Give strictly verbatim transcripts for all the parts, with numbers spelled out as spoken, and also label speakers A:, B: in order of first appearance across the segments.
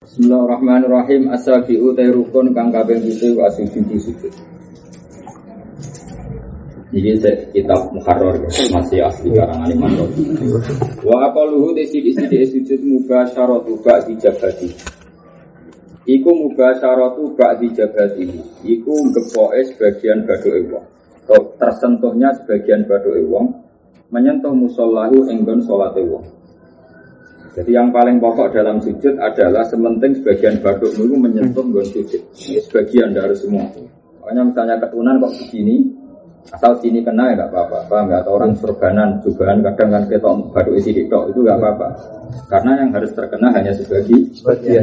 A: Bismillahirrahmanirrahim. As-sabi'u tayrukun kang kabeh pitu asujudu sujud. Ini kitab Muharrar masih asli karangan Imam Razi. Wa aqaluhu desi-desi sujud mubasyaratu ba'di jabati. Iku mubasyaratu ba'di jabati. Iku ngepoke sebagian badoke wong. Atau tersentuhnya sebagian badoke wong menyentuh musallahu enggon salate wong. Jadi yang paling pokok dalam sujud adalah sementing sebagian baduk itu menyentuh nggon sujud. Ini sebagian dari semua. Makanya misalnya ketunan kok begini, asal sini kena ya nggak apa-apa. Paham nggak? Atau orang surbanan, jubahan kadang kan ketok baduk isi diktok itu nggak apa-apa. Karena yang harus terkena hanya sebagian. Sebagian.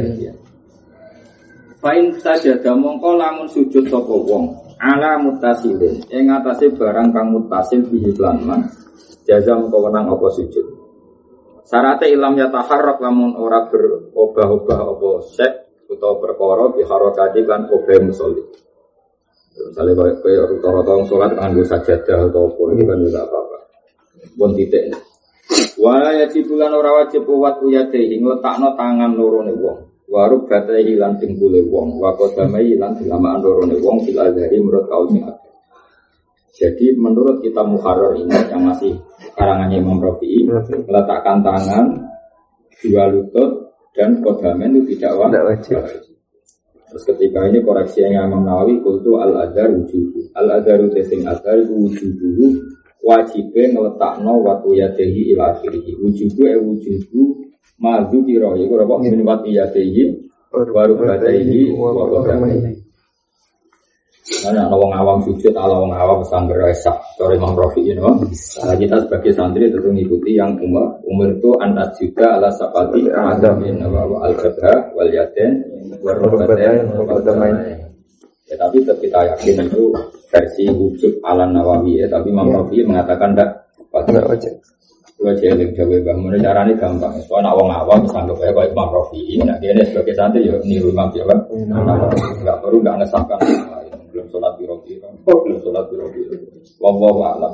A: Fa'in saja mongko lamun sujud sapa wong ala muttasilin. Ing atase barang kang muttasil bihi lan man. Jaza mongko wenang apa sujud. Syaratnya ilam ya taharrak lamun ora berubah-ubah apa sek utawa perkara biharokati lan obeh musolli. Misalnya kayak kayak rata-rata orang sholat nganggo sajadah atau apa itu kan juga apa-apa. Pun titik. Wala yajib lan ora wajib wat uyadehi ngletakno tangan lorone wong. Warub batehi lan dengkule wong, wa qadamai lan dilamaan lorone wong fil azhari menurut kaul sing akeh. Jadi menurut kita Muharrar ini yang masih karangannya Imam Rafi'i meletakkan tangan dua lutut dan kodamen itu tidak wajib. Terus ketika ini koreksinya Imam Nawawi kultu al-adhar wujubu al-adharu tesing adhar wujubu wajibnya ngeletakno watu yadehi ila akhirihi wujubu e wujubu madu kiro itu apa min watu yadehi baru badehi wa kodamen. Karena ada orang awam sujud, ala orang awam sangger esak. Sorry Imam Rafi'i, no? Nah, kita sebagai santri tentu mengikuti yang umur. Umur itu antas juga ala sapati adamin al-jabha wal yaden warrobaten warrobaten. Ya tapi tetap kita yakin itu versi wujud ala Nawawi ya. Tapi Imam Rafi'i mengatakan tidak wajib. Wajib yang jauh bangun. Caranya gampang. Soalnya orang awam sanggup kayak kayak Imam Rafi'i. Nah dia sebagai santri ya niru Imam Jawa. Enggak perlu enggak ngesahkan. Belum sholat biro-biro, belum sholat biro-biro. Wallahu a'lam.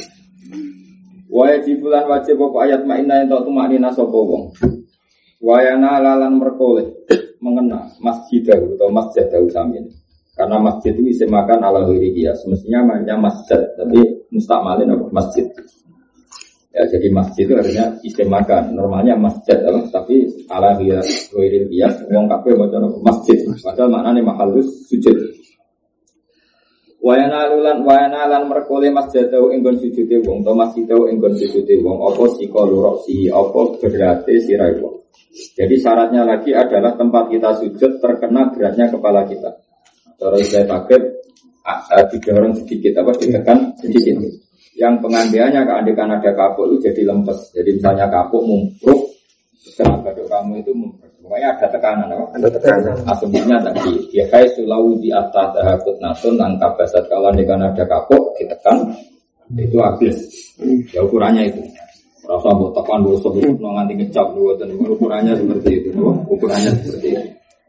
A: Wajib bulan wajib pokok ayat ma'inah yang tak tumaknina sapa wong. Wayana lalan merkoleh mengena masjidah atau masjid dawu samin. Karena masjid itu isi makan ala ghairi semestinya namanya masjid, tapi mustakmalin apa masjid. Ya jadi masjid itu artinya isi makan. Normalnya masjid tapi ala ghairi qiyas wong kabeh macam masjid. Padahal maknane mahallus sujud. Wayana lulan wayana lan merkole masjidau enggon sujude wong to masjidau enggon sujude wong apa sika lurasi apa berate sirai wong. Jadi syaratnya lagi adalah tempat kita sujud terkena beratnya kepala kita. Terus saya pakai didorong sedikit apa ditekan sedikit. Yang pengandiannya keandikan ada kapuk itu jadi lempes. Jadi misalnya kapuk mumpruk kena baduk kamu itu mumpruk. Pokoknya ada tekanan, apa? Ada tekanan. Asumsinya tadi, ya kayak sulau di atas hakut nasun, angka basat kalau dengan ada kapok ditekan, itu habis. Ya ukurannya itu. Rasa buat tekan dulu sebelum nganti ngecap dulu, dan ukurannya seperti itu. Ukurannya seperti itu.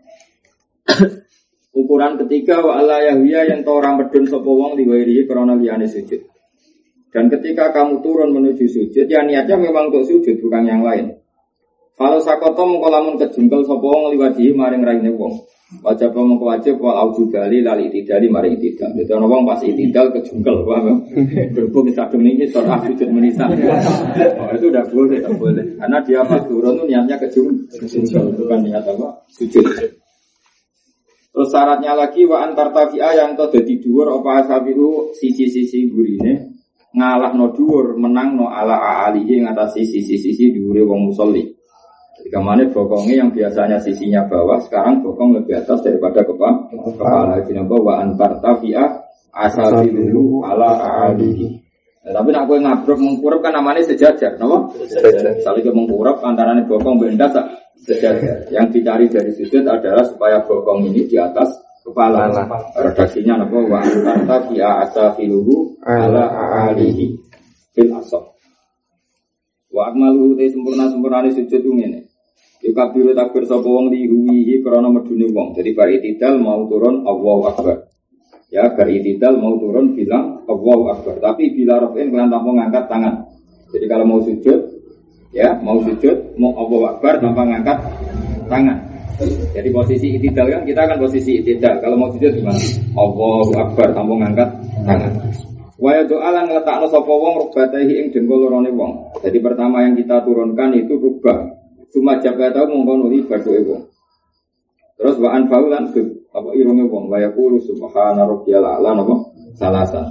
A: Ukuran ketiga wa ala yahwiya yang tahu orang medun sapa wong diwairi karena liyane sujud. Dan ketika kamu turun menuju sujud, ya niatnya memang untuk sujud bukan yang lain. Kalau sakoto mengko lamun kejungkel sapa wong liwadi maring raine wong. Wajib mengko wajib wal aujudali lali tidali maring tidal. Dadi ana wong pas tidal kejungkel, paham? Berhubung sadung niki surah sujud menisa. Oh, itu udah boleh, tidak boleh. Karena dia pas turun itu niatnya kejungkel, bukan niat apa? Sujud. Terus syaratnya lagi wa antar tafi'a yang to dadi dhuwur apa asabihu sisi-sisi gurine ngalahno dhuwur menangno ala alihi ngatasi sisi-sisi dhuwure wong musolli. Jika mana bokongnya yang biasanya sisinya bawah, sekarang bokong lebih atas daripada kepala. Kepala jenabah wa antar tafi'ah asabilu ala alihi. Nah, tapi nak kue ngabrok mengkurap kan namanya sejajar, nama? Sejajar. Saling mengkurap antara bokong benda sejajar. Yang dicari dari sujud adalah supaya bokong ini di atas kepala. Redaksinya nama wa antar tafi'ah asabilu ala alihi fil asab. Wa akmalu te sempurna-sempurnane sujud ngene. Yo kabiru takbir sapa wong lihuwihi krana medune wong. Jadi bar itidal mau turun Allahu Akbar. Ya bar itidal mau turun bilang Allahu Akbar. Tapi bila rafin kelan tanpa ngangkat tangan. Jadi kalau mau sujud ya mau sujud mau Allahu Akbar tanpa ngangkat tangan. Jadi posisi itidal kan kita kan posisi itidal. Kalau mau sujud gimana? Allahu Akbar, tanpa ngangkat tangan. Wa doa lan ngletakno sapa wong rubatahi ing dengkul lorone wong. Jadi pertama yang kita turunkan itu rubah. Cuma jabata mongko nuli baduke wong. Terus wa anfaulan apa irunge wong wa yaqulu subhana rabbiyal a'la napa salasan.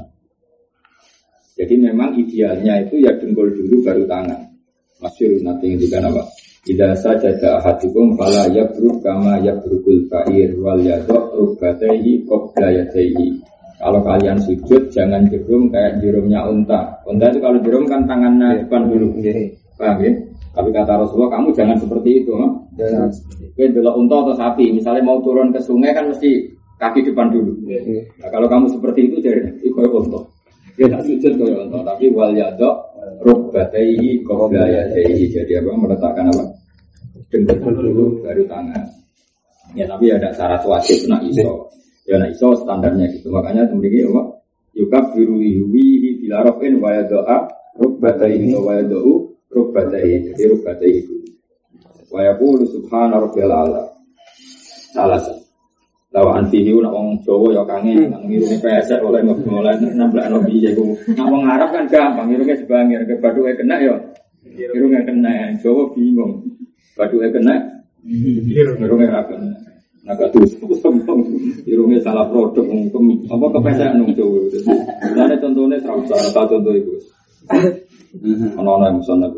A: Jadi memang idealnya itu ya dengkul dulu baru tangan. Masyhur nanti ngendikan apa? Idza sajada ahadukum fala yabruk kama yabrukul fa'ir wal yadhu rubbatayhi qabla yadayhi. Kalau kalian sujud jangan jerum kayak jerumnya unta. Unta itu kalau jerum kan tangannya depan dulu. Paham ya? Tapi kata Rasulullah kamu jangan seperti itu, no? Jangan. Kowe delok unta atau sapi, misalnya mau turun ke sungai kan mesti kaki depan dulu. Nah, kalau kamu seperti itu jadi itu koyo unta. Ya tak sujud koyo unta, tapi wal yadhu rukbatayhi qabla yadayhi. Jadi apa meletakkan apa? Dengkul dulu baru tangan. Ya tapi ada syarat wajib nak iso. Ya nak iso standarnya gitu. Makanya kemudian apa? Yukabbiru wihi bila rafin wa yad'a rukbatayhi wa yad'u rukbatayhi. Jadi rukbatayhi itu. Wa yaqulu subhana rabbiyal a'la. Salah satu. Lawan video nak wong Jawa ya kangen nang ngirune pesek oleh mulai namblakno piye iku. Nak wong Arab kan gampang ngirune sebangir ke bathuke kena ya. Irunge kena Jawa bingung. Bathuke kena irunge ra kena. Nak terus sombong. Irunge salah produk mungkin apa kepesek nang Jawa. Lane contone ra usah tak contoh iku. Ana-ana muson aku.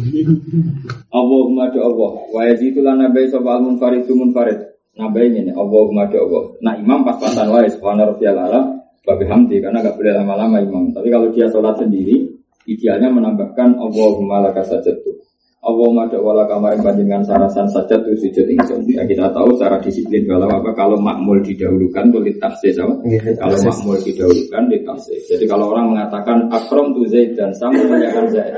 A: Allahumma do Allah wa yazidu lana bi sabal munfarid munfarid. Nabai ini, Allahumma do'Allah. Nah imam pas-pasan wae, subhana rabbiyal a'la, babi hamdi, karena gak boleh lama-lama imam. Tapi kalau dia sholat sendiri, idealnya menambahkan Allahumma laka sajadtu. Allahumma do'Allah kamarin panjenengan sarasan sajadtu sujud ingsun. Ya kita tahu secara disiplin kalau apa kalau makmul didahulukan itu ditafsir sama. Kalau makmul didahulukan ditafsir. Jadi kalau orang mengatakan akram tu Zaid dan saya memuliakan Zaid.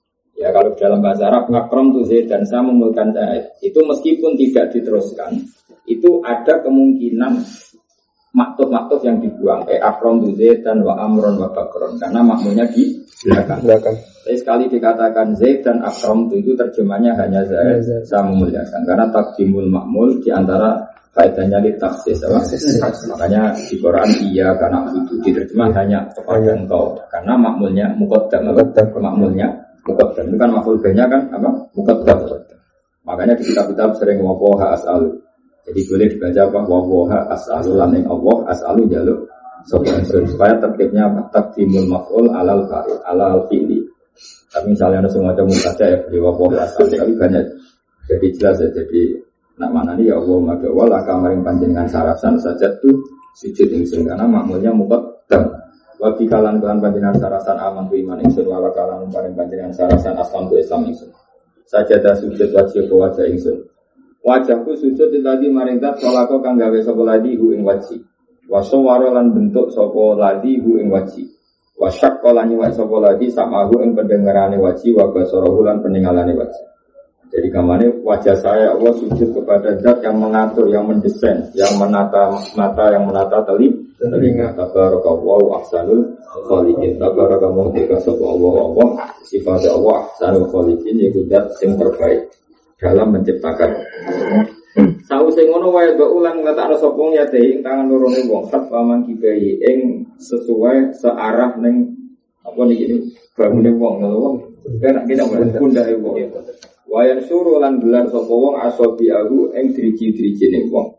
A: Ya kalau dalam bahasa Arab akram tu Zaid dan saya memuliakan Zaid. Itu meskipun tidak diteruskan, itu ada kemungkinan maktub-maktub yang dibuang kayak akron tu Zaid dan wa amron wa bakron karena makmulnya di belakang. belakang. Tapi sekali dikatakan Zaid dan akron itu terjemahnya hanya Zaid saya memuliakan karena takdimul makmul di antara kaitannya di taksis. Makanya di Quran iya karena itu diterjemah hanya kepada engkau karena makmulnya muqaddam makmulnya muqaddam itu kan makmul banyak kan apa muqaddam. Makanya di kitab-kitab sering wapoha as'al. Jadi boleh dibaca apa wawoha as'alu laning Allah as'alu jaluk supaya tertibnya apa takdimul maf'ul alal fa'il alal fi'li. Tapi misalnya ada semacam saja ya di wawoha as'alu tapi banyak. Jadi jelas ya jadi nak mana nih ya Allah madawal akamaring panjenengan sarasan saja tuh sujud ingsun karena makmulnya muqaddam. Wa fi kalan kalan panjenengan sarasan aman tu iman ingsun wa kalan paring panjenengan sarasan aslam tu Islam ingsun. Sajadah sujud wajib wajah ingsun. Wajahku sujud tadi maring zat salako kang gawe sapa ladi hu ing waji. Wa sawara lan bentuk sapa ladi hu ing waji. Wa syaqqa lan wa sapa ladi samahu ing pendengarane waji wa basarahu lan peningalane waji. Jadi kamane wajah saya Allah sujud kepada zat yang mengatur, yang mendesain, yang menata mata, yang menata telinga. Tabarakallahu ahsanul khaliqin. Tabarakallahu sapa Allah Allah sifat Allah ahsanul khaliqin iku zat sing terbaik dalam menciptakan. Sause ngono wae do ulang ngletakno sapa ya ing tangan lorone wong sak paman kibai ing sesuai searah ning apa niki bangune wong lho. Kena kita pundake wong. Wayan suruh lan gelar sapa wong asobiahu ing driji-drijine wong.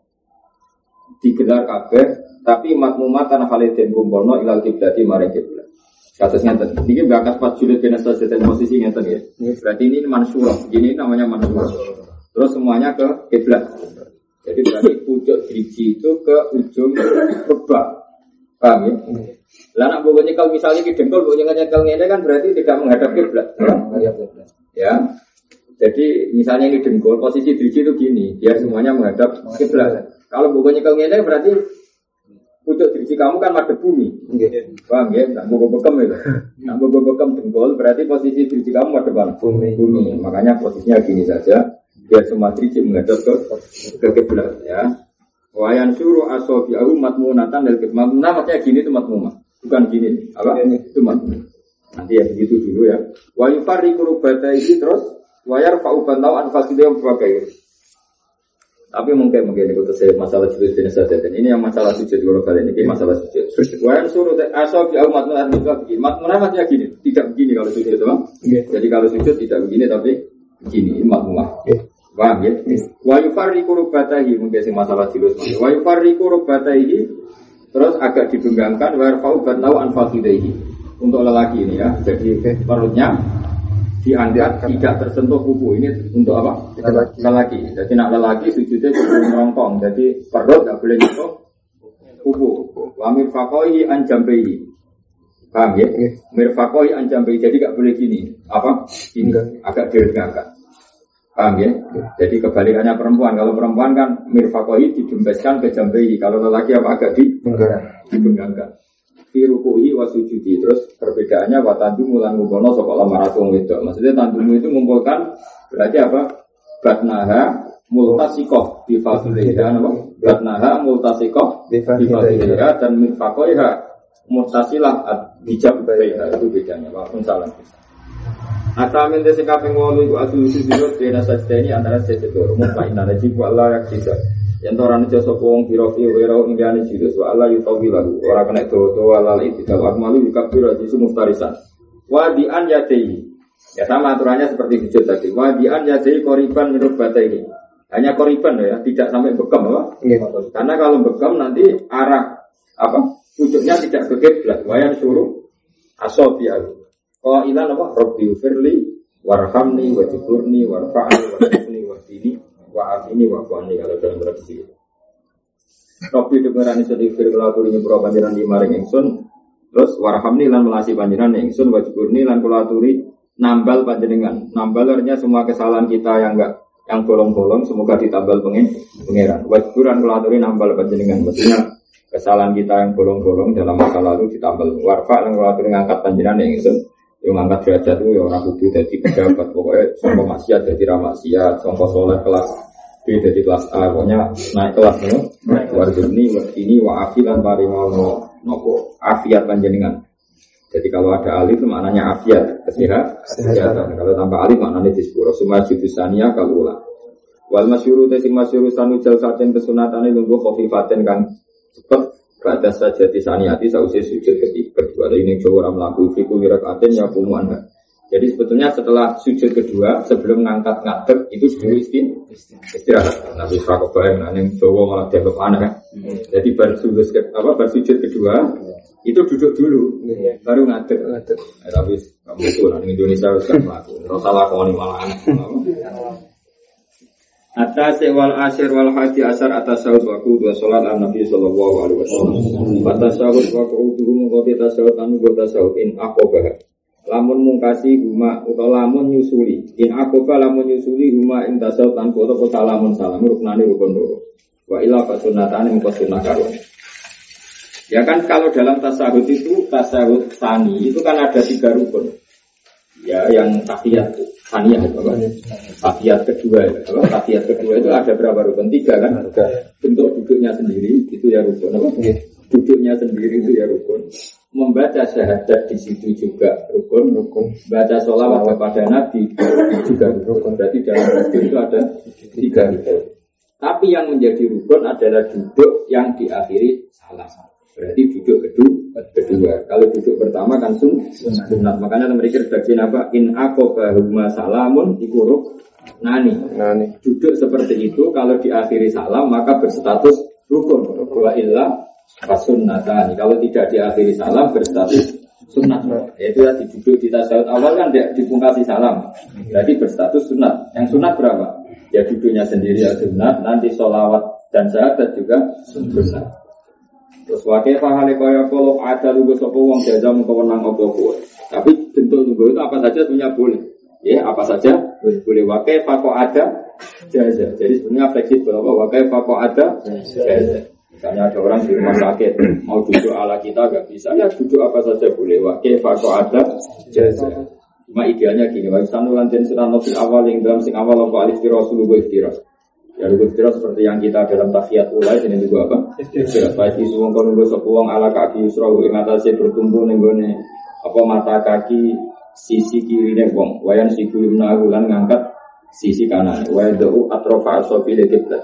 A: Digelar kabeh tapi makmumatan haliden kumpulno ilal kiblati maring kiblat. Kasus ngeten. Ini bakas pas julid bin asas dan posisi ngeten ya. Berarti ini mansurah. Ini namanya mansurah. Terus semuanya ke kiblat. Jadi berarti pucuk driji itu ke ujung rebah. Paham ya? Lah nak mbok nyekel misalnya ki dengkul mbok nyekel ngene kan berarti tidak menghadap kiblat. Ya. Jadi misalnya ini dengkul posisi driji itu gini, biar semuanya menghadap kiblat. Kalau mbok nyekel ngene berarti pucuk driji kamu kan madhep bumi. Nggih. Paham ya? Nak mbok bekem itu. Nak mbok bekem dengkul berarti posisi driji kamu madhep bumi. Bumi. Makanya posisinya gini saja. Biar semua driji menghadap ke kiblat ya. Wayan suruh asobiahu matmunatan dari kiblat. Nah maksudnya gini itu matmumah. Bukan gini. Apa? Itu matmumah. Nanti ya begitu dulu ya. Wa yufariqu rubata ini terus wayar fa'ubantau anfasidiyam berbagai. Tapi mungkin mungkin itu saya masalah sujud jenis saja. Dan ini yang masalah sujud kalau kalian ini masalah sujud. Wayan suruh asal di umat munar juga begini. Mat munar begini, tidak begini kalau sujud itu bang. Jadi kalau sujud tidak begini tapi begini mat munar. Paham ya? Wa yufarriqu rubbatahi mungkin sing masalah jilus. Wa yufarriqu rubbatahi terus agak dibenggangkan wa yarfa'u batnahu an fakhidaihi. Untuk lelaki ini ya. Jadi perutnya diangkat tidak tersentuh kuku. Ini untuk apa? Lelaki. lelaki. Jadi nak lelaki sujudnya kuku merongkong. Jadi perut tidak boleh nyentuh kuku. Wa mirfaqaihi an jambihi. Paham ya? Mirfaqaihi an jambihi. Jadi tidak boleh gini. Apa? Ini agak diregangkan. Paham ya? Jadi kebalikannya perempuan. Kalau perempuan kan mirfaqaihi didembeskan ke jambihi. Kalau lelaki apa agak dibenggangkan. Fi ruku'i wa sujudi. Terus perbedaannya wa tandumu lan ngumpulna sapa lamaratung wedok. Maksudnya tandumu itu mengumpulkan berarti apa? Batnaha multasiqah bi fadliha apa? Batnaha multasiqah bi fadliha dan mirfaqaiha muttasilah bijab baiha. Itu bedanya. Waalaikum salam. Atamin desa kaping wolu iku asal sujud bena sajdaini antara sesedoro mutmainna najib wa la yaksisa. Yang orang itu sopong birofi wero indiani jilus wa Allah yutawi lalu orang kena doa lali tidak akmalu yukabir azizu mustarisan wadian yadei ya sama aturannya seperti sujud tadi wadian yadei koriban menurut bata ini hanya koriban ya tidak sampai bekam apa? Ya. Karena kalau bekam nanti arah apa pucuknya tidak ke kiblat wayan suruh asofialu kalau ilan apa Robbi firli warhamni wajiburni warfa'ni wajibni wajini wa ini wa qani kalau dalam tradisi itu. Robi dengarane sedhi fir kula aturi nyepro panjenengan di maring ingsun terus warhamni lan melasi panjenengan ingsun wajiburni lan kula aturi nambal panjenengan. Nambal artinya semua kesalahan kita yang enggak yang bolong-bolong semoga ditambal pengen pangeran. Wajiburan kula aturi nambal panjenengan. Maksudnya kesalahan kita yang bolong-bolong dalam masa lalu ditambal. Warfa lan kula aturi ngangkat panjenengan ingsun. Yang angkat derajat itu ya orang kudu jadi pejabat pokoknya sampai maksiat jadi ramaksiat sampai soleh kelas B jadi kelas A pokoknya naik kelas no warjuni ini wa afilan paringono nopo afiat panjenengan. Jadi kalau ada alif maknanya afiat kesehatan kalau tanpa alif maknanya disepuro semua judusania kalau wal masyhuru tesing masyhuru sanujal saten kesunatane lungguh khofifaten kang cepet pada saja disaniati sausi sujud kedua ini coba orang melakukan fikul rakaat ya kumuan. Jadi sebetulnya setelah sujud kedua sebelum ngangkat ngadeg itu dulu istirahat. Nabi Fakobah yang coba malah dianggap aneh. Jadi baru sujud apa baru sujud kedua itu duduk dulu baru ngadeg. Tapi kamu itu orang Indonesia harus melakukan. Rasalah kau ini malah aneh. Atas wal asyir wal haji asar atas sahut waku dua solat al Nabi sallallahu alaihi wasallam. Atas sahut waku dulu mengkoti tasawut anu gota sahut in akobah. Lamun mungkasi huma atau lamun nyusuli. In akobah lamun nyusuli huma in tasawut anu gota kota lamun salam ruknani rukun dulu. Wa ilah fasunatan yang fasunah karun. Ya kan kalau dalam tasawut itu tasawut sani itu kan ada tiga rukun. Ya yang tahiyat saniyah apa? Tahiyat kedua, apa? Tahiyat kedua itu ada berapa rukun? Tiga kan? Bentuk duduknya sendiri itu ya rukun, apa? Duduknya sendiri itu ya rukun. Membaca syahadat di situ juga rukun, rukun. Baca sholawat kepada Nabi juga rukun. Berarti dalam rukun itu ada tiga rukun. Tapi yang menjadi rukun adalah duduk yang diakhiri salam. Berarti duduk kedua, kedua. Kalau duduk pertama kan sun, sunat. Makanya mereka redaksi apa? In akobahuma salamun ikuruk nani. nani. Duduk seperti itu kalau diakhiri salam maka berstatus rukun. Wa illa fasunnatani. Kalau tidak diakhiri salam berstatus sunat. Yaitu tadi duduk di tasawuf awal kan tidak dipungkasi salam. Berarti berstatus sunat. Yang sunat berapa? Ya duduknya sendiri ya sunat. Nanti sholawat dan syahadat juga sunat. Terus wakil fahale kaya kalau ada lugu sopo wong jajam kewenang opo-opo. Tapi bentuk lugu itu apa saja sebenarnya boleh. Ya apa saja boleh. Wakil fako ada jaza. Jadi sebenarnya fleksibel. Wakil fako ada jaza. Misalnya ada orang di rumah sakit mau duduk ala kita gak bisa. Ya duduk apa saja boleh. Wakil fako ada jaza. Cuma idealnya gini. Wa istanu lantin sirano fil awal yang dalam sing awal opo alif kiro sulugu ikhtiras. Ya rukun istirahat seperti yang kita dalam tahiyat ulai ini juga apa? Istirahat. Pasti suwung kono nggo sapa wong ala kaki yusra ing atase bertumpu ning gone apa mata kaki sisi kirine wong. Wayan siku limna lan ngangkat sisi kanan. Wa da'u atrofa asofi li kiblat.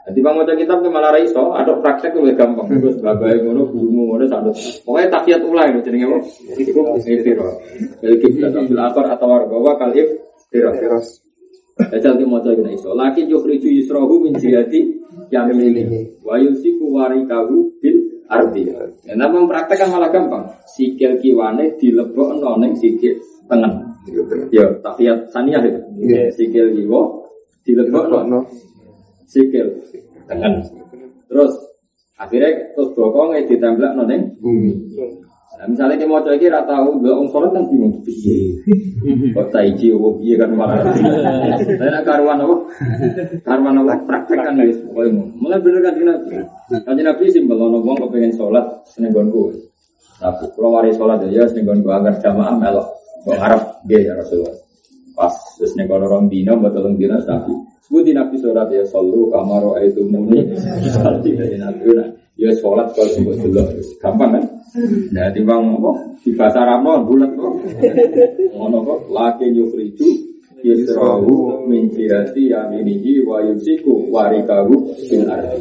A: Jadi bang baca kitab ke malah raiso, ada praktek lebih gampang. Terus bagai ngono, gurumu ngono satu. Pokoknya takiat ulai loh, jadi nggak Itu istiro. Jadi kita ambil akar atau warga kalif tiros. Jajal ke maca gini iso. Laki jukhriju yusrohu min jihati yamini. Wa yusiku warikahu bil ardi. Ya, nah mempraktekkan malah gampang. Sikil kiwane dilebokno ning sikil tengen. Ya, takiat saniyah itu. Sikil kiwa dilebokno sikil tengen. Terus akhirnya terus bokongnya ditemplekno ning bumi. Nah, misalnya kita mau coba kira tahu dua orang sholat kan bingung piye. Kok taiji opo piye kan malah. Saya karuan apa? Karuan apa praktek kan guys. Mulai bener kan Nabi. Kan Nabi simpel ono wong kepengin sholat seneng gonku. Tapi kalau mari sholat ya seneng gonku agar jamaah melok. Wong Arab nggih ya Rasulullah. Pas terus nek ono rong dina betul dina Nabi. Sebuti Nabi sholat ya sallu kamaro itu muni. Salati dari Nabi. Ya sholat kalau sebut dulu gampang kan? Nah timbang apa? Di bahasa Arab bulat kok. Ngono kok laki yukhriju yusrahu min jihati yaminihi wa yusiku warikahu bil ardi.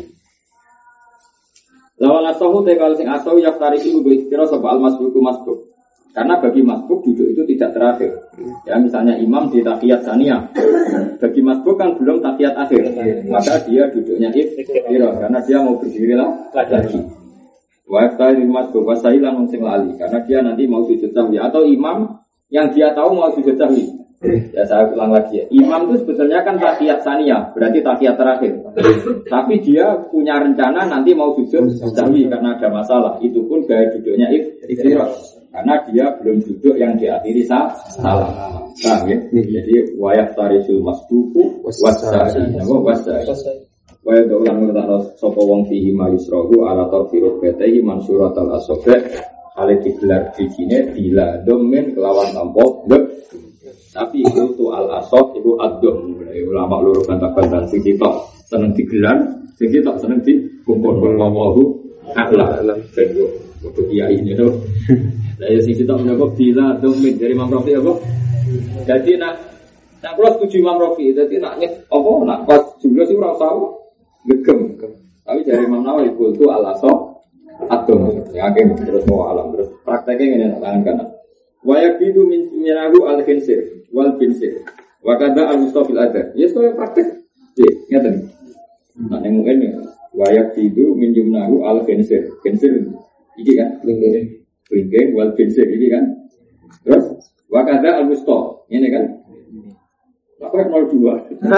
A: Lawan asahu tekal sing asau yaftariku kudu kira sapa al masbuku masbuk. Karena bagi masbuk duduk itu tidak terakhir. Ya misalnya imam di tahiyat saniyah. Bagi masbuk kan belum tahiyat akhir. Maka dia duduknya iftira karena dia mau berdiri lagi. Wa yaftari masbuk wasailan sing lali karena dia nanti mau sujud sahwi atau imam yang dia tahu mau sujud sahwi. Ya saya ulang lagi ya. Imam itu sebetulnya kan tahiyat saniyah, berarti tahiyat terakhir. Tapi dia punya rencana nanti mau sujud sahwi karena ada masalah. Itu pun gaya duduknya iftira. Karena dia belum duduk yang diakhiri sah, salah. Nah, ya. Jadi wayak tarisul masbuku wasai. Nama wasai. Wayak ulang ulang sopo wong fihi mayusrohu ala torfiruh betehi mansurat al asobe. Hal digelar di sini bila domen kelawan tampok dek. Tapi itu tu al asob itu adom. Ulama luruh bantah-bantah sing sitok seneng digelar, sing sitok seneng dikumpul wallahu a'lam. Betul. Untuk kiai ini tuh. Saya sing sitok menyebut bila domin dari Imam Rafi apa? Jadi nak nak kalau setuju Imam Rafi, jadi naknya apa? Nak pas jumlah sih orang tahu gegem. Tapi dari Imam Nawawi itu alaso atom. Yakin terus mau alam terus prakteknya ini nak tangan kanan. Wayak itu min minahu al khinsir wal khinsir. Wakada al mustafil ada. Ya soal praktek. Ya, ngerti. Nak nemu ini. Wayak itu min jumnahu al khinsir. Khinsir ini kan? Ringkeng wal binsir ini kan. Terus wakada al musto ini kan. Apa nol dua.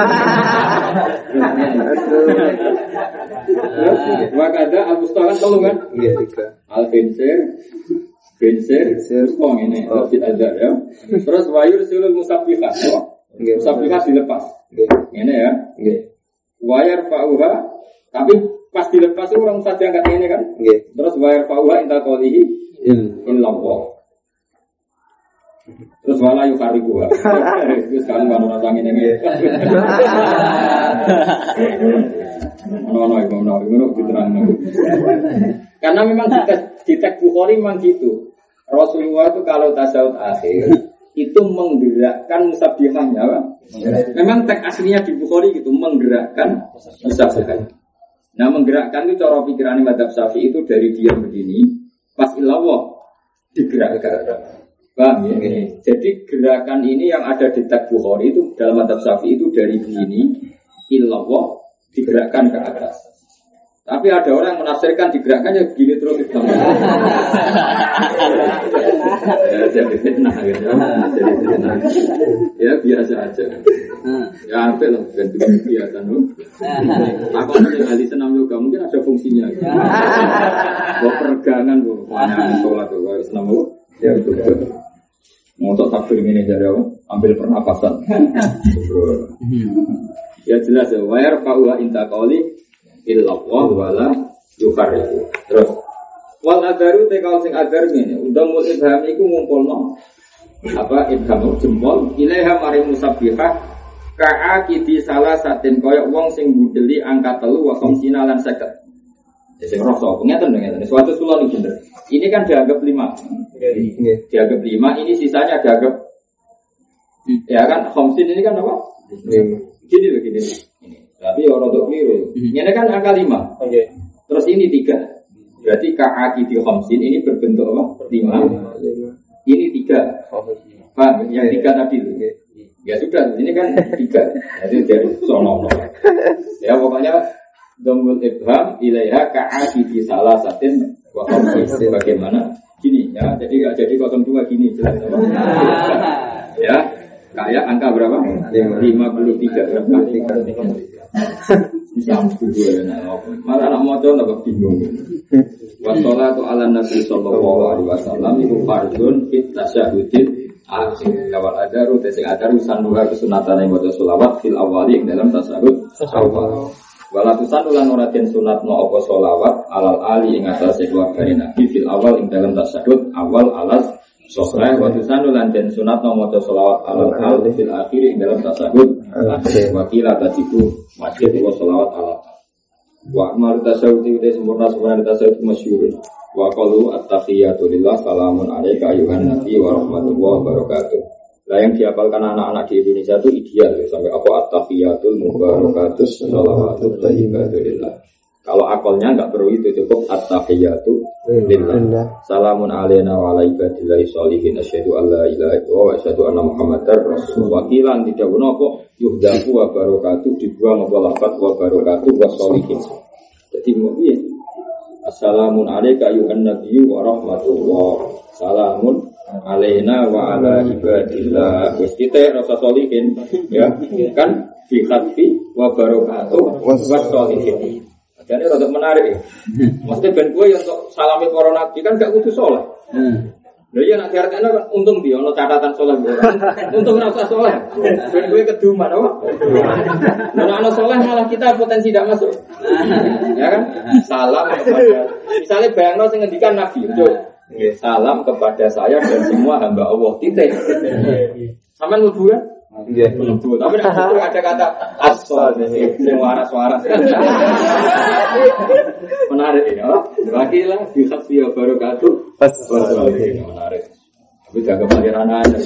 A: Terus wakada al musto kan tolong kan. Al binsir binsir kong ini tidak ada ya. Terus wayur silul musabbiqah. Musabbiqah dilepas. Ini ya. Wayar fauha tapi pas dilepas itu orang saja angkat ini kan. Terus wayar fauha inta qolihi illallah. Terus wala yukariku. Terus kan kan ora sange ngene. Ono ono iku ono iku diterangno. Karena memang di tes di tes Bukhari memang gitu. Rasulullah itu kalau tasawuf akhir itu menggerakkan musabbihahnya. Memang teks aslinya di Bukhari gitu menggerakkan musabbihah. Nah menggerakkan itu cara pikiran madzhab Syafi'i itu dari diam begini. Pas ilawah digerakkan, paham ya? Gini. Jadi gerakan ini yang ada di teks Bukhari itu dalam madzhab Syafi'i itu dari begini ilawah digerakkan ke atas. Tapi ada orang yang menafsirkan digerakkannya begini terus itu. Ya jadi fitnah gitu. Jadi fitnah. Ya biasa aja. Ya ambil lah ganti biasa loh. Aku nanti kali senam yoga mungkin ada fungsinya. Buat peregangan bu, mana sholat tuh harus senam yoga. Ya betul. Mau tak takbir ini jadi apa? Ambil pernapasan. Ya jelas ya. Wayar pauha intakoli. Illallah wala yukhariku. Terus wal adaru tekal sing adar ngene undang ibham iku ngumpulno apa ibham jempol ilaiha mari musabbihah ka'akidi salah satin koyok wong sing budeli angka telu wa khamsina lan seket. Ya sing rasa ngeten ngeten suatu kula iki bener. Ini kan dianggap lima. Nggih. Dianggap lima ini sisanya dianggap ya kan khamsin ini kan apa? lima. Gini loh gini. Ini. Tapi orang untuk keliru. Ini kan angka lima. Okay. Terus ini tiga. Berarti ka'aki di khamsin ini berbentuk apa? Lima. Ini tiga. Paham? Yang tiga tadi. Ya sudah, ini kan tiga. Jadi dari sono. Ya pokoknya domul ibham ilaiha ka'aki di salah satin wa khamsin. Bagaimana? Gini ya. Jadi enggak jadi nol dua gini jelas. Ya. Kayak angka berapa? lima puluh tiga berapa? Islam kedua malah nak mau coba nak bingung. Wassalatu ala nabi sallallahu alaihi wasallam iku fardun fit tasyahudin akhir. Kawal adaru tesing adaru sanduha kesunatan yang maca selawat fil awali dalam tasyahud awal. Walatusan ulan ora den sunatno apa selawat alal ali ing atase keluargane nabi fil awal ing dalam tasyahud awal alas sosrah watusan ulan den sunatno maca selawat alal ali fil akhir ing dalam tasyahud akhir. Wakila tadiku wajib wa selawat alal wa amal tasyahud itu sempurna sempurna tasyahud masyhur wa qalu at-tahiyatu lillah salamun alayka ayuhan nabi wa rahmatullahi wa barakatuh. Lah yang dihafalkan anak-anak di Indonesia itu ideal ya, sampai apa at-tahiyatul mubarakatus shalawatut thayyibatu lillah. Kalau akalnya enggak perlu itu, cukup at-tahiyatu lillah. Salamun alaina wa ala ibadillahi sholihin asyhadu alla ilaha illallah wa asyhadu anna muhammadar rasulullah. Wakilan tidak ono kok yuhdafu wa barakatuh dibuang apa lafaz wa barakatuh wa sholihin. Jadi mau piye? Assalamun alayka ayuhan nabiyyu wa rahmatullah. Salamun alaina wa ala ibadillah. Wis kita rasa sholihin ya kan fi khatfi wa barakatuh wa sholihin. Jadi rada menarik ya. Maksudnya ben kowe yo untuk salami para nabi kan gak kudu saleh. Hmm. Lha iya nek diartekno kan untung dia ono catatan saleh ora. Untung ora usah saleh. Ben kowe keduman apa? Nek ana saleh malah kita potensi tidak masuk. Ya kan? Salam kepada misalnya bayangno sing ngendikan nabi yo. Nggih, salam kepada saya dan semua hamba Allah. Titik. Sampeyan mlebu kan? Nggih, mlebu. Tapi nek ada kata as-sol sing waras-waras. Menarik ya. Wakilah bi khafi wa barakatuh. Menarik. Tapi jaga pangeran aja.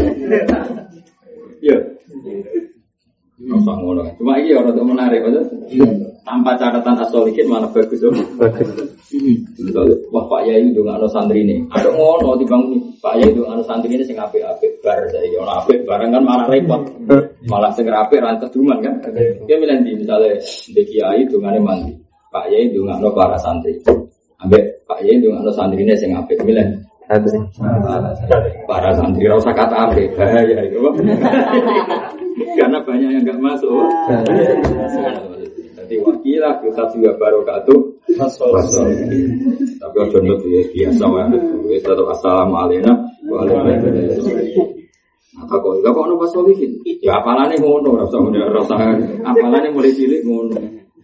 A: Iya. Masa ngono. Cuma iki ora untuk menarik aja. Tanpa catatan as-solihin malah bagus loh. Wah Pak Yai ndongakno santrine. Ada ngono timbang Pak Yai ndongakno santrine sing apik-apik bar saiki ono apik barang kan malah repot. Malah sing apik ra keduman kan. Dia milih ndi misale ndek kiai dongane mandi. Pak Yai ndongakno para santri. Ambek Pak Yai ndongakno santrine sing apik milih santri. Para santri ora usah kata apik bahaya itu. Karena banyak yang enggak masuk. Jadi wakilah kita juga barokatuh. Tapi ojo nut ya biasa wae. Wis tetep assalamualaikum warahmatullahi wabarakatuh. Apa kok enggak kok ono pasolihin? Ya apalane ngono, ora usah rasa apalane mulai cilik ngono.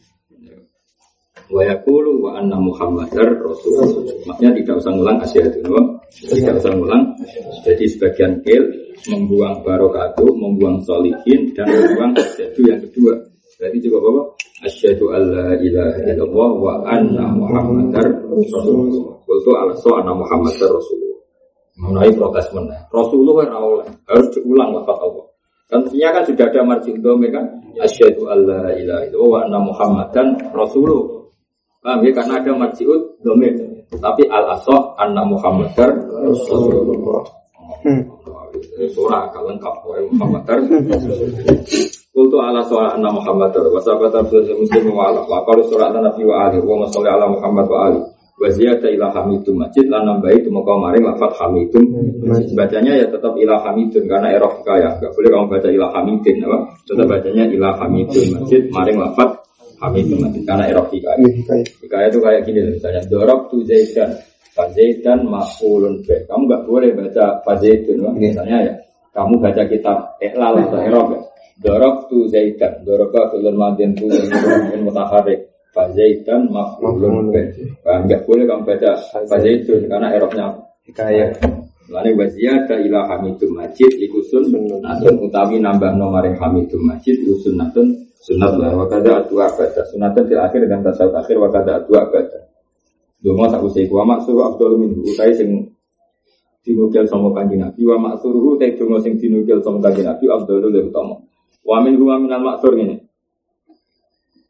A: Wa yaqulu wa anna muhammadar rasulullah. Maksudnya tidak usah ngulang asyhadu wa tidak usah ngulang. Jadi sebagian kil membuang barokatuh, membuang solihin dan membuang asyhadu yang kedua. Berarti juga apa? Asyhadu alla ilaha illallah wa anna muhammadar rasulullah. Qultu ala anna muhammadar rasulullah. Mengenai protes mana? Rasulullah ora harus diulang lafaz Allah. Kan sebenarnya kan sudah ada marji dhamir kan? Asyhadu alla ilaha illallah wa anna muhammadan rasulullah. Paham ya? Karena ada marji dhamir. Tapi al-asah anna muhammadar rasulullah. Surah kalau lengkap muhammadar Kultu ala soal anna Muhammadar wa sahabat muslim wa ala wa qalu surah an-nabi wa ali wa sholli ala Muhammad wa ali wa ziyada ila hamidum majid lan nambahi tumeka maring lafaz hamidum majid. Bacanya ya tetap ila hamidun karena erof kaya enggak boleh kamu baca ila hamidin apa tetap bacanya ila hamidun majid maring lafaz hamidum majid karena erof kaya. Kaya itu kayak gini misalnya dorab tu zaidan fazaidan maf'ulun bih. Kamu enggak boleh baca fazaidun misalnya ya kamu baca kitab ihlal atau erof ya. Dorok tu zaidan, dorok fi'il madin tu fi'il mutaharrik. Fa zaidan maf'ulun bih. Enggak boleh kamu baca fa zaidun karena i'rabnya hikayah. Lane waziyada ila hamidum majid iku sunnatun utawi nambah nomare hamidum majid iku sunnatun sunat la wa kada atwa baca sunatun fil akhir dan tasawuf akhir wa kada atwa baca. Donga sak usai wa maksuru afdal min utai sing dinukil sama kanjeng Nabi wa maksuruhu te donga sing dinukil sama kanjeng Nabi afdalul utama. Wa min huwa minal maksur ini.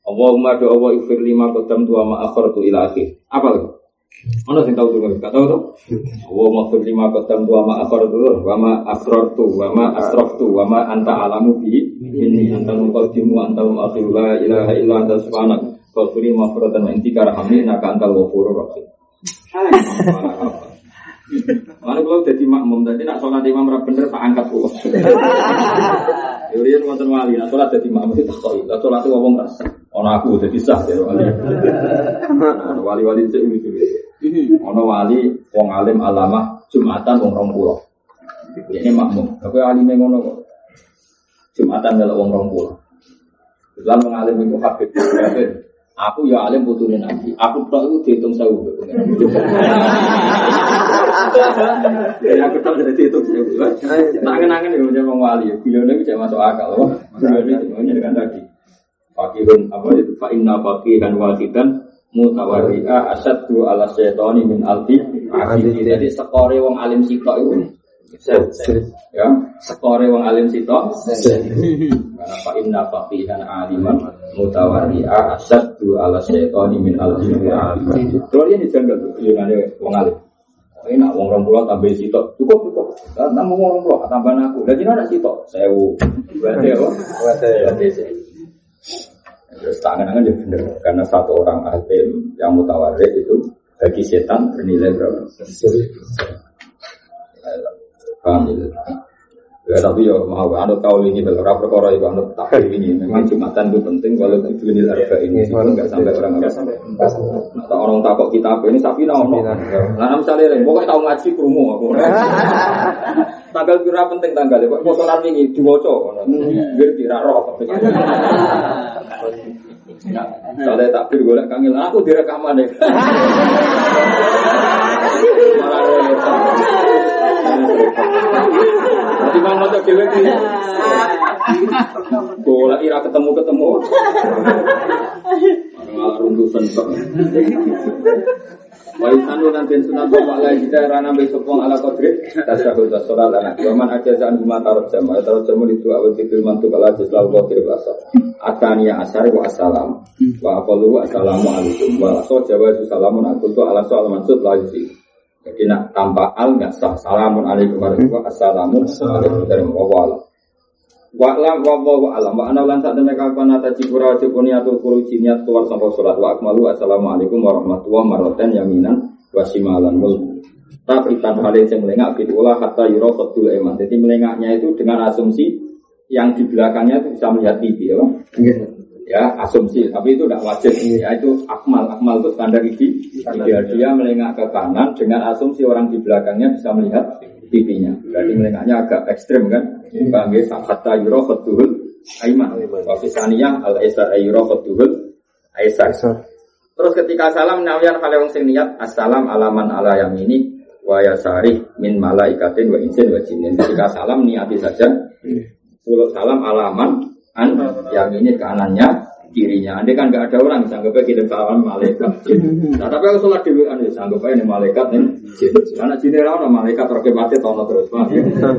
A: Allahumma do Allah ighfir lima qaddam tu wa ma akhartu ila akhir. Apa lagi? Ono sing tahu tuh, enggak tahu tuh? Allahumma ighfir lima qaddam tu wa ma akhartu wa ma asrartu wa ma asraftu wa ma anta alamu bi inni anta muqaddimu wa anta muakhir la ilaha illa anta subhanaka wa qul maghfiratan min indika rahmina ka antal ghafurur rahim. Mana kalau jadi makmum, tadi nak sholat imam rap bener tak angkat pulau. Yurian wonten wali, nak sholat jadi makmum itu tak tahu. Nak sholat itu ngomong rasa, orang aku jadi sah jadi wali. Wali-wali itu lucu. Orang wali, wong alim alamah Jumatan wong rong pulau. Ini makmum. Tapi alim yang ngono kok. Jumatan kalau wong rong pulau. Islam mengalim itu habib. Aku ya alim putune Nabi. Aku tok iku diitung sewu. Ya aku tok jadi diitung sewu. Tangan-tangan yo wong wali. Guyone iki masuk akal. Guyone itu dengan tadi. Fakihun apa itu fa inna faqihan wahidan mutawarri'a asaddu ala syaitani min alfi. Jadi skore wong alim sitok iku ya, skore wong alim sitok. Karena fa inna faqihan aliman mutawarri'a asaddu ala syaitani min alfi. Terus ini dijaga tuh yunane wong alim. Ini nak wong rong puluh tambah sitok cukup cukup. Tambah wong rong puluh tambah aku. Lah jenenge sitok sewu. Berarti apa? Berarti terus tangan-tangan juga benar karena satu orang alim yang mutawarri itu bagi setan bernilai berapa? Paham ya? Ya tapi ya mau anut kau ini beberapa perkara itu anut takdir ini memang Jumatan itu penting kalau itu ini harga ini nggak sampai orang nggak sampai atau orang takut kita apa ini sapi naon nah misalnya lain pokoknya tahu ngaji kerumu aku tanggal kira penting tanggal kok mau sholat ini diwoco biar tidak roh kalau takbir golek kangil aku direkaman deh malah Nanti mau motor dewe ki. Bola ira ketemu-ketemu. Malah runtusan kok. Wa isanu nanti sunan bapak lagi daerah nambe sopong ala kodrit tasyahud sholat anak waman ajazan huma tarot jam tarot jam itu awal fikir mantuk ala jazlal kodrit asal atania asari wa assalam wa aqalu assalamu alaikum wa aso jawa salamun aqutu ala soal mansud lagi. Jadi nak tanpa al nggak sah. Assalamun alaikum warahmatullahi wabarakatuh. Assalamualaikum warahmatullahi wabarakatuh. Wa'lam wallahu a'lam. Wa ana lan sak tenek kapan ata cipura cipuniatul kuruci niat keluar sampai salat wa akmalu. Assalamualaikum warahmatullahi wabarakatuh. Yaminan wa shimalan mul. Tapi tanpa hal yang melengak fitulah hatta yura fatul iman. Jadi melengaknya itu dengan asumsi yang di belakangnya itu bisa melihat T V ya, Bang. Ya, asumsi, tapi itu tidak wajib. Ya, itu akmal, akmal itu standar gigi. Dia dia melengak ke kanan dengan asumsi orang di belakangnya bisa melihat pipinya. Berarti melengaknya agak ekstrim kan? Bangge hatta yura fatul aiman. Wa fisaniyah al aisar yura fatul aisar. Terus ketika salam nawiyan hale wong sing niat assalam alaman ala yamini wa yasari min malaikatin wa insin wa jinnin. Ketika salam niati saja. Pulau salam alaman an yang ini kanannya kirinya. Andai kan nggak ada orang, sanggup aja kirim salam malaikat. Nah, tapi aku sholat dulu kan, sanggup aja nih malaikat nih. Karena sini orang malaikat terkebati tono terus pak.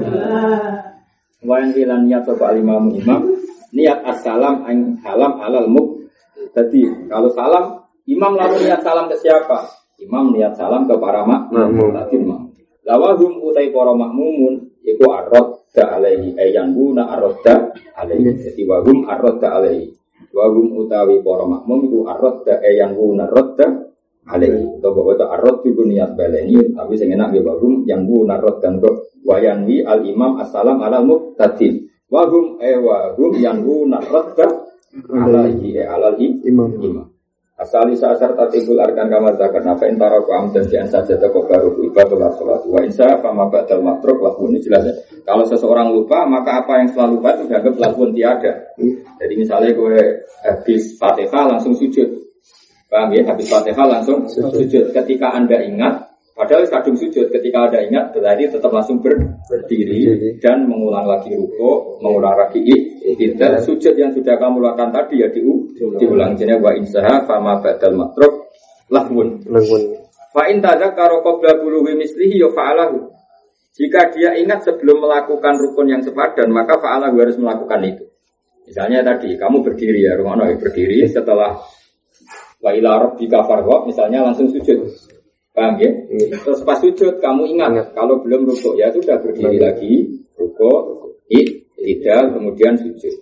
A: Wayan kilan niat coba imam imam niat assalam an halam halal muk. Jadi kalau salam imam lalu niat salam ke siapa? Imam niat salam ke para makmum. Lawahum utai para makmumun iku arad da alaihi ayan guna arada alaihi. Jadi wahum arada alaihi. Wahum utawi para makmum iku arada ayan guna arada alaihi. To bahwa to arad juga niat baleni tapi sing enak nggih wahum yang guna aradan kok wayanwi al imam assalam ala muqtadi. Wahum e wahum yang guna arada alaihi alaihi imam imam. Asali sasar tatibul arkan kamar zakat nafa intara ku amdan di ansaja toko baru ibadah sholat wa insya fama ba'dal matruk lakun. Ini jelas ya. Kalau seseorang lupa maka apa yang setelah lupa itu dianggap lakun tiada. Jadi misalnya gue habis Fatihah langsung sujud, paham ya? Habis Fatihah langsung sujud. Ketika anda ingat, padahal kadung sujud, ketika anda ingat berarti tetap langsung berdiri dan mengulang lagi ruku, mengulang lagi tidak sujud yang sudah kamu lakukan tadi ya diu, diulang jenis wa insaha fama badal matruk lahun lahun fa in tadzakara qabla buluwi mislihi ya fa'alahu. Jika dia ingat sebelum melakukan rukun yang sepadan maka fa'alahu harus melakukan itu. Misalnya tadi kamu berdiri ya, rumah ya berdiri setelah wa ila rabbika farghab misalnya langsung sujud. Paham ya? Terus pas sujud kamu ingat kalau belum rukuk ya sudah berdiri lagi, rukuk, i'tidal kemudian sujud.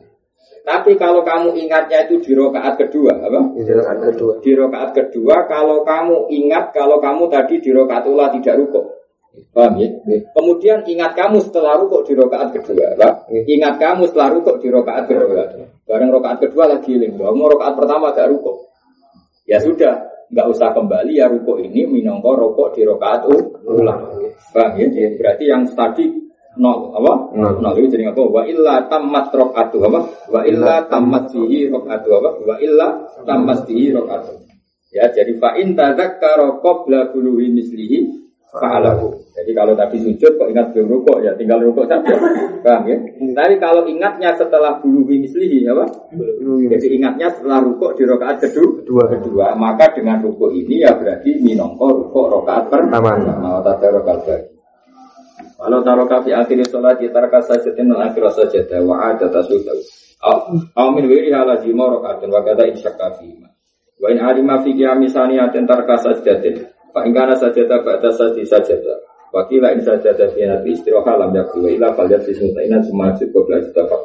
A: Tapi kalau kamu ingatnya itu di rakaat kedua, apa? Di rakaat kedua. Di rakaat kedua kalau kamu ingat kalau kamu tadi di rakaat ula tidak rukuk. Paham ya? Kemudian ingat kamu setelah rukuk di rakaat kedua, apa? Ingat kamu setelah rukuk di rakaat kedua. Bareng rakaat kedua lagi eling, mau rakaat pertama gak rukuk. Ya sudah. Enggak usah kembali ya rukuk ini minangka rukuk di rakaat ulang. Paham ya? Berarti yang tadi nol apa? Nol itu jadi apa? Wa illa tammat rakaatu apa? Wa illa tammat fihi rakaatu apa? Wa illa tammat fihi rakaatu. Ya, jadi fa in tadzakkara qabla buluhi mislihi fa'alahu. Jadi kalau tadi sujud kok ingat belum rukuk ya tinggal rukuk saja. Paham ya? Tapi kalau ingatnya setelah buluhi mislihi apa? Jadi ingatnya setelah rukuk di rakaat kedua, kedua, maka dengan rukuk ini ya berarti minangka rukuk rakaat pertama. Mau tadarok al-baqi. Kalau taroka fi akhir salat taraka sajdatin al akhir sajdah wa ada tasawuf. Aw min wiri halazi marakatin wa kada insyaka fi. Wa in alima fi qiyami saniyatin taraka sajdatin. Fa in kana sajdah ba'da sajdi sajdah. Wa qila in sajdah fi nabi istiraha lam yakul ila falyat sismutaina sumajud qabla istafaq.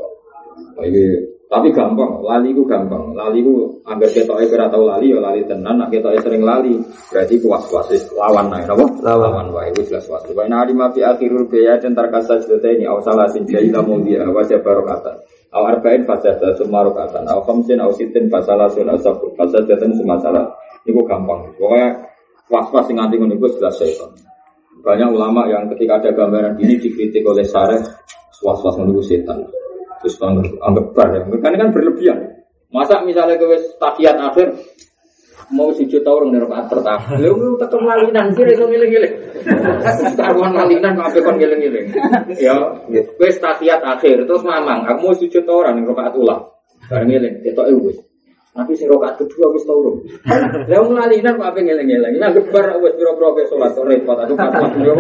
A: Ini tapi gampang, lali ku gampang. Lali ku anggar ketoke ora tau lali ya lali tenan, nek ketoke sering lali berarti kuwas-kuwas lawan nae napa? Lawan wae wis jelas was. Wa ina alima fi akhirul biya dan tarkasa ini aw salasin jaila mawdi'a wa jabarokatan. Aw arba'in fasada sumarokatan. Aw khamsin aw sitin fasalasun asabul fasadatan sumasalah. Niku gampang. Pokoknya was-was sing nganti ngono iku jelas setan. Banyak ulama yang ketika ada gambaran ini dikritik oleh Syarih was-was ngono setan. Terus anggap bar, kan kan berlebihan. Masa misalnya kowe tahiyat akhir mau sujud ta urung ning rakaat pertama. Lha lu tetep lalinan kira iso ngiling-ngiling. Taruhan lalinan kok ape kon ngiling-ngiling. Ya, kowe tahiyat akhir terus mamang, aku mau sujud ta ora ning rakaat ula. Bar ngiling, ketoke wis. Tapi sing rakaat kedua wis ta urung. Lah wong lalinan kok ape ngiling-ngiling. Anggap bar wis pira-pira ke salat repot atau pas-pas yo.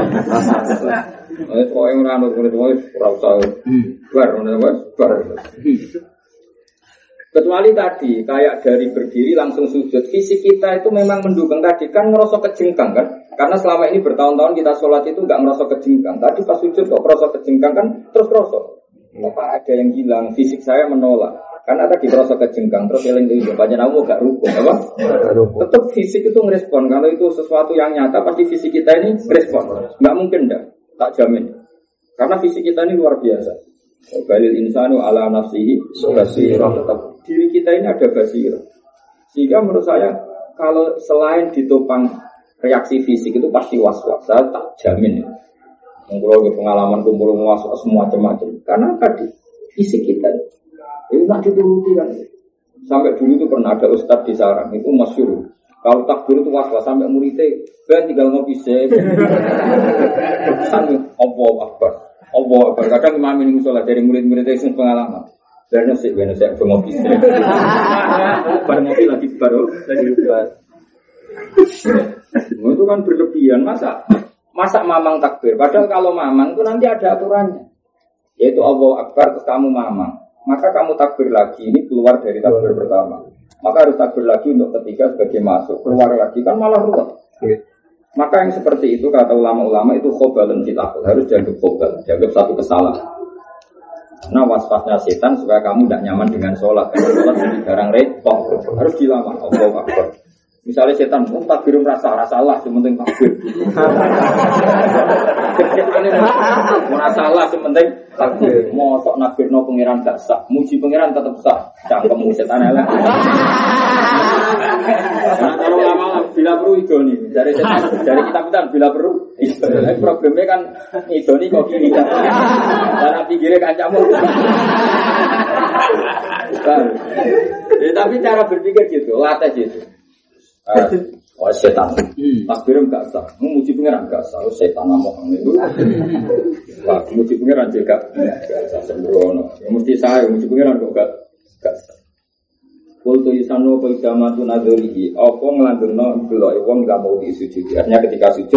A: Wis kok ora ono kuwi wis ora usah bar ngono wis bar. Kecuali tadi kayak dari berdiri langsung sujud, fisik kita itu memang mendukung tadi kan ngerasa kejengkang kan? Karena selama ini bertahun-tahun kita sholat itu enggak ngerasa kejengkang. Tadi pas sujud kok ngerasa kejengkang kan terus ngerasa. Apa ada yang hilang? Fisik saya menolak. Karena tadi ngerasa kejengkang terus eling itu banyak namu gak rukuk apa? Tetap fisik itu ngerespon. Kalau itu sesuatu yang nyata pasti fisik kita ini ngerespon. Enggak mungkin enggak. Tak jamin. Karena fisik kita ini luar biasa. Balil insanu ala nafsihi basirah. Tetap diri kita ini ada basirah. Sehingga menurut saya kalau selain ditopang reaksi fisik itu pasti was-was. Saya tak jamin. Kalau ke pengalaman kumpul was-was semua macam-macam. Karena tadi fisik kita itu tak dituruti kan. Sampai dulu itu pernah ada ustadz di sarang itu masyhur. Kalau takbir itu was-was sampai muridnya ben tinggal ngopi sih. Allahu Akbar. Allah Akbar. Kadang imam ini musola dari murid-muridnya yang pengalaman. Karena sih benar saya ngopi sih. Bar ngopi lagi baru lagi buat. Itu kan berlebihan masa masa mamang takbir. Padahal kalau mamang itu nanti ada aturannya. Yaitu Allahu Akbar terus kamu mamang. Maka kamu takbir lagi ini keluar dari takbir pertama. Maka harus takbir lagi untuk ketiga sebagai masuk. Keluar lagi kan malah ruwet. Maka yang seperti itu kata ulama-ulama itu khobalun fitakul. Harus dianggap khobal, dianggap satu kesalahan. Nah was-wasnya setan supaya kamu tidak nyaman dengan sholat. Karena sholat jadi barang repot. Harus dilama. Allahu Akbar. Misalnya setan, oh takbir merasa rasalah, sementing takbir. Merasalah sementing takbir. Mosok nakbir no pengiran gak sah, muji pengiran tetap sah. Cangkemmu setan elek. Nah, kalau lama bila perlu idoni, dari setan, dari kitab-kitab bila perlu. Idoni. Problemnya kan idoni kok gini kan. Karena pikirnya kancamu. Ya, tapi cara berpikir gitu, latih gitu. Oh setan, takbirum gak sah, memuji pengiran gak sah, setan ngomong itu. Wah, memuji pengiran juga gak sah sembrono. Ya mesti saya memuji pengiran kok gak gak sah. Kultu isanu peidamatu nadorihi, apa ngelanturno belok wong gak mau disujudi. Artinya ketika sujud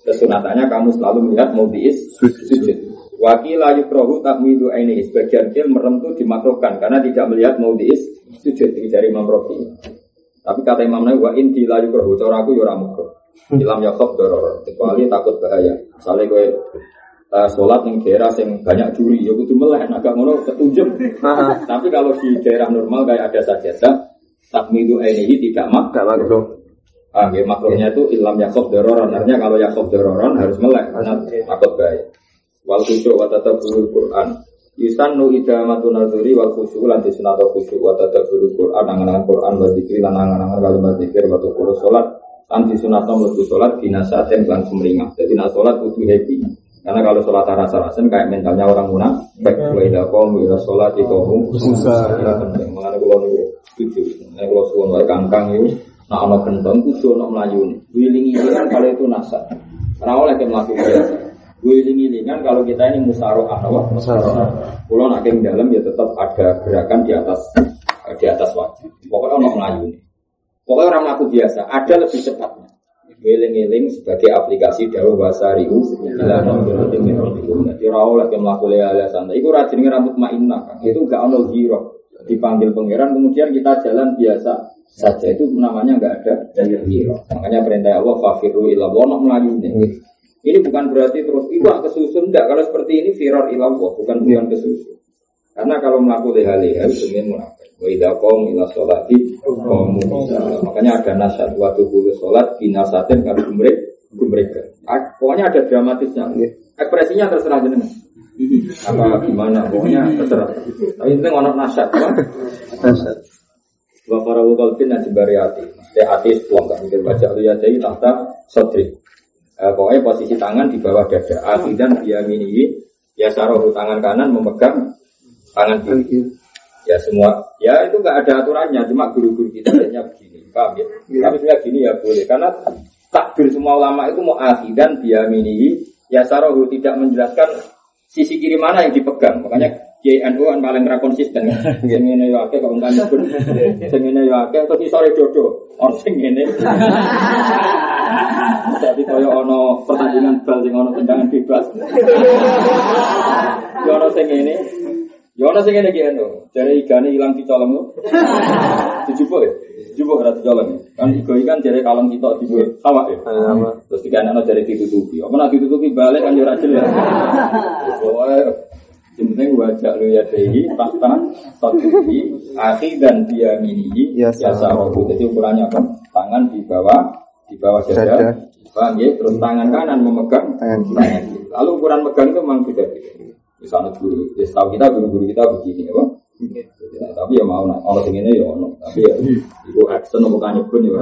A: Kesunatannya kamu selalu melihat maudhi'is sujud. Wakil ayu krohu takmidu ini sebagian kil merem itu dimakruhkan karena tidak melihat maudhi'is sujud ini dari Imam Rafi. Tapi kata Imam Nawawi wa in di layu krohu cara aku yo ora makruh. Ilam yakhaf doror kecuali takut bahaya. Misalnya kowe uh, sholat ning daerah yang banyak juri, ya kudu meleh agak ngono ketunjuk. Tapi kalau di daerah normal kayak ada sajadah, takmidu ini tidak makruh. Ah, ya, makruhnya itu ilam yakhaf dororan. Artinya kalau yakhaf dororan harus melek karena takut bahaya. Wal khusyuk wa tadabburul Qur'an. Yusannu idamatu nadhuri wal khusyuk lan disunnato khusyuk wa tadabburul Qur'an angan-angan Qur'an wa zikri lan angan-angan kalimat zikir wa tuqul salat lan disunnato mlebu salat binasaten lan sumringah. Jadi nak salat kudu happy. Karena kalau salat rasa-rasen kayak mentalnya orang munafik. Wa idza qamu ila sholati qamu susah. Mengenai kula niku setuju. Nek kula suwun wae kangkang niku nah ana kendang kudu ana mlayune. Wiling-wilingan kalau itu nasa. Ora oleh ke mlaku biasa. Wiling-wilingan kalau kita ini musyarakah apa? Musyarakah. Kulo nek ing dalem ya tetap ada gerakan di atas di atas wajib. Pokoknya ana mlayune. Pokoknya orang mlaku biasa, ada lebih cepatnya. Wiling-wiling sebagai aplikasi dawuh wasari'u ila nabiyyin min rabbikum. Jadi ora oleh ke mlaku lele santai. Iku ora jenenge rambut mainah. Itu enggak ono ghirah. Dipanggil pangeran kemudian kita jalan biasa saja itu namanya enggak ada ghirah. Makanya perintah Allah fafiru ila wa melayu ini. Ini bukan berarti terus iwak kesusun enggak. Kalau seperti ini firar ila Allah bukan bukan kesusun. Karena kalau melakukan leha-leha itu sebenarnya munafik. Wa idza qom ila sholati qamu. Makanya ada nasihat waktu dulu sholat binasatin kalau gumrek gumrek. Pokoknya ada dramatisnya. Ekspresinya terserah jenengan. Apa gimana pokoknya terserah. Tapi penting ono nasihat, nasihat. Wa farawu qalbin najbari ati. Mesti ati tuang kan mikir baca ya jadi tahta sodri. Eh, pokoknya posisi tangan di bawah dada. Akhidan biyaminihi ya sarohu tangan kanan memegang tangan kiri. Ya semua. Ya itu enggak ada aturannya, cuma guru-guru kita hanya begini. Paham ya? Tapi sebenarnya gini ya boleh karena takbir semua ulama itu mau akhidan biyaminihi ya sarohu tidak menjelaskan sisi kiri mana yang dipegang. Makanya J N U kan paling ra konsisten. Sing ngene yo akeh kok ngene pun. Sing ngene yo akeh terus isore dodo. Ono sing ngene. Tapi kaya ono pertandingan bal sing ono tendangan bebas. Yo ono sing ngene. Yo ono sing ngene iki eno. Jare igane ilang dicolong lho. Dijupuk ya. Dijupuk ora dicolong. Kan igo ikan jare kalong sitok dibuat awak ya. Terus digane ono jare ditutupi. Apa nek ditutupi balik kan yo ora jelas. Yang penting wajah lu ya dehi fakta satu di akhir dan dia mini ya sarobu. Jadi ukurannya apa? Tangan di bawah di bawah dada, paham ya? Terus tangan kanan memegang tangan kiri. Lalu ukuran megang itu memang beda. Misalnya guru, ya setahu kita guru-guru kita begini, apa? Ya, tapi ya mau nak orang ini ya ono. Tapi ya ibu action bukan pun ya.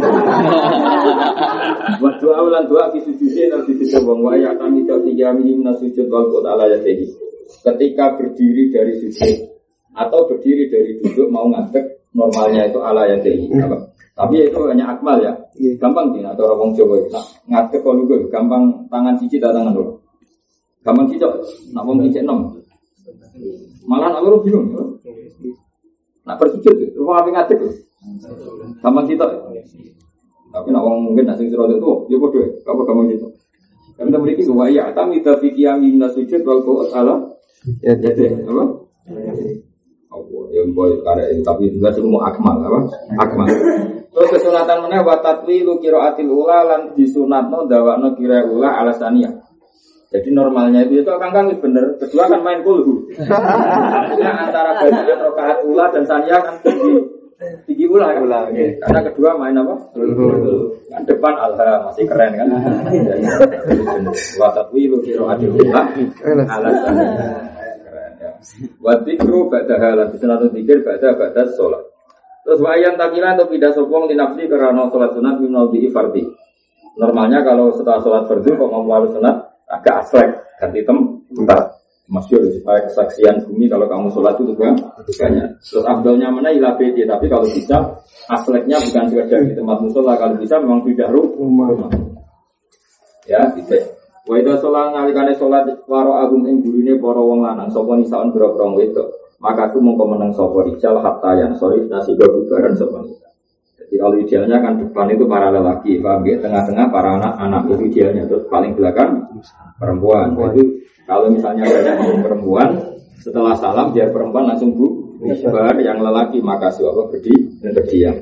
A: Buat doa ulang doa di sujud dan di sujud bang waya kami jadi kami nasujud wal qala ya dehi. Ketika berdiri dari sujud atau berdiri dari duduk mau ngadeg normalnya itu ala yang tinggi. Tapi itu hanya akmal ya. Gampang sih atau orang Jawa itu. Ngadeg kalau gue gampang tangan cici dan tangan dulu. Gampang cici. Nak wong cici enam. Malah nak lu bingung. Nak bersujud terus apa ngadeg? Gampang cici. Tapi nak wong mungkin nak sing serodok tuh ya bodoh. Apa gampang cici. Karena mereka itu waya kami tapi kiamin nasujud wal qut ala ya jadi apa? Oh, yang boy karena ini tapi juga semua akmal apa? Akmal. Terus kesunatan mana? Watatwi lu kiraatil ula lan disunatno dawakno kira ula alasannya. Jadi normalnya itu itu kang kang bener. Kedua kan main kulhu. Nah, antara bacaan rakaat ula dan saniyah kan tinggi. Tinggi ula kan? Ula, okay. Karena kedua main apa? Kan depan alha masih keren kan? Watatwi lu kiraatil ula alasannya. Wadikru ba'da halan disunat dzikir ba'da ba'da sholat. Terus wayan takilan atau tidak sopong dinafsi karena sholat sunat minal di fardi. Normalnya kalau setelah sholat fardu kok mau harus sunat agak aslek ganti tempat. Masyhur supaya kesaksian bumi kalau kamu sholat itu juga banyak. Terus abdolnya mana ilah beti tapi kalau bisa asleknya bukan sekedar di tempat musola kalau bisa memang tidak rumah. Ya tidak. Wa idza sholat nalikane sholat waro agum ing gurine para wong lanang sapa nisaon boro-boro wedok maka aku mongko meneng sapa rijal hatta yang sorry nasi bubaran sapa nisa. Jadi Jadi kalau idealnya kan depan itu para lelaki, paham ya? Tengah-tengah para anak-anak itu idealnya, terus paling belakang perempuan. Itu kalau misalnya ada perempuan, setelah salam biar perempuan langsung bu, bubar, yang lelaki maka apa berdi berdiam.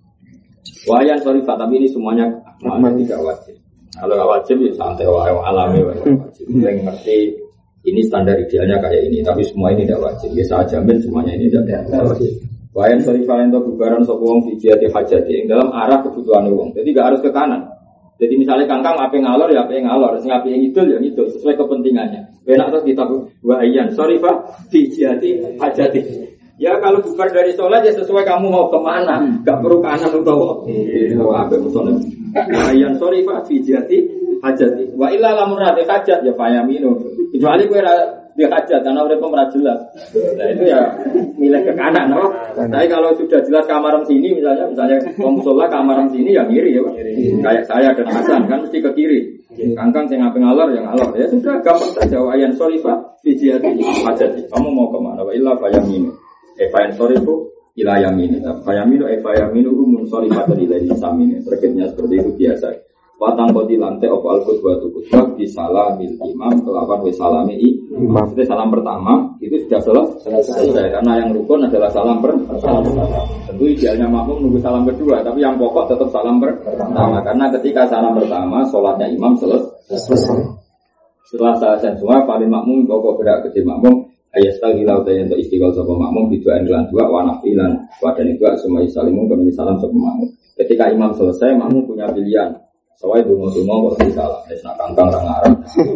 A: Wayan sorry tapi ini semuanya tidak wajib. Kalau nggak wajib ya santai wae alami wajib. Yang ngerti ini standar idealnya kayak ini, tapi semua ini tidak wajib. Ya saya jamin semuanya ini tidak wajib. Wayan sorry valento bubaran sapa wong dijati hajati dalam arah kebutuhan wong. Jadi nggak harus ke kanan. Jadi misalnya kangkang ape ngalor ya ape ngalor, sing ape ngidul ya ngidul sesuai kepentingannya. Benak terus ditaku wayan sorry Pak dijati hajati. Ya kalau bubar dari sholat ya sesuai kamu mau kemana, nggak perlu kanan atau oh ape musola. Wayan sorry Pak dijati hajati. Wa illa lamun rate hajat ya payamino. Kecuali kowe dia hajat karena udah pemerah jelas. Nah itu ya milih ke kanan, no? Tapi kalau sudah jelas kamaran sini misalnya, misalnya musola kamaran sini ya ngiri ya, Pak. Kayak saya dan Hasan kan mesti ke kiri. Kangkang saya ngapain ngalor ya ngalor. Ya sudah gampang saja. Wayan sorry Pak, fijiati hajat. Kamu mau kemana? Wa illa fayaminu. Eh fayan sorry Bu, ila yaminu. Fayaminu eh fayaminu umun sorry Pak dari dari samine. Terketnya seperti itu biasa. Watang kodi lantai opo al-qudwa tu qudwa di salamil imam kelawan we salami imam. Itu salam pertama itu sudah selesai karena yang rukun adalah salam pertama. Tentu idealnya makmum nunggu salam kedua, tapi yang pokok tetap salam pertama karena ketika salam pertama sholatnya imam selesai. Setelah selesai semua paling makmum pokok gerak ke makmum ayastal hilau dan untuk istiqol sapa makmum didoain lan dua wa nafilan wa dan itu semua salimu kemudian salam sapa makmum. Ketika imam selesai makmum punya pilihan. Soalnya dungo-dungo kalau salah, es nak kangkang orang Arab.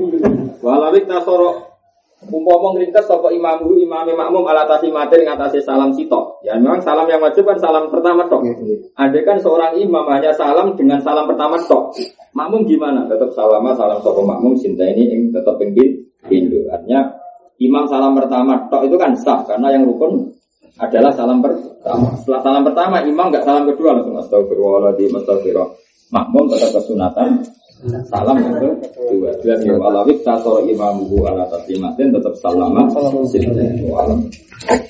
A: Walawik tasoro, umpama ngrintes sapa imamku imame makmum alatasi mater ngatasi salam sitok. Ya memang salam yang wajib kan salam pertama tok. Andai kan seorang imam hanya salam dengan salam pertama tok. Makmum gimana? Tetap salama salam sapa makmum cinta ini ing tetap penggil Hindu. Artinya imam salam pertama tok itu kan sah karena yang rukun adalah salam pertama. Setelah salam pertama imam enggak salam kedua langsung astagfirullahaladzim astagfirullah. Makmum tetap kesunatan salam yang kedua. Dan ya walawik tasor imamuhu ala taslimatin tetap salama. Salam.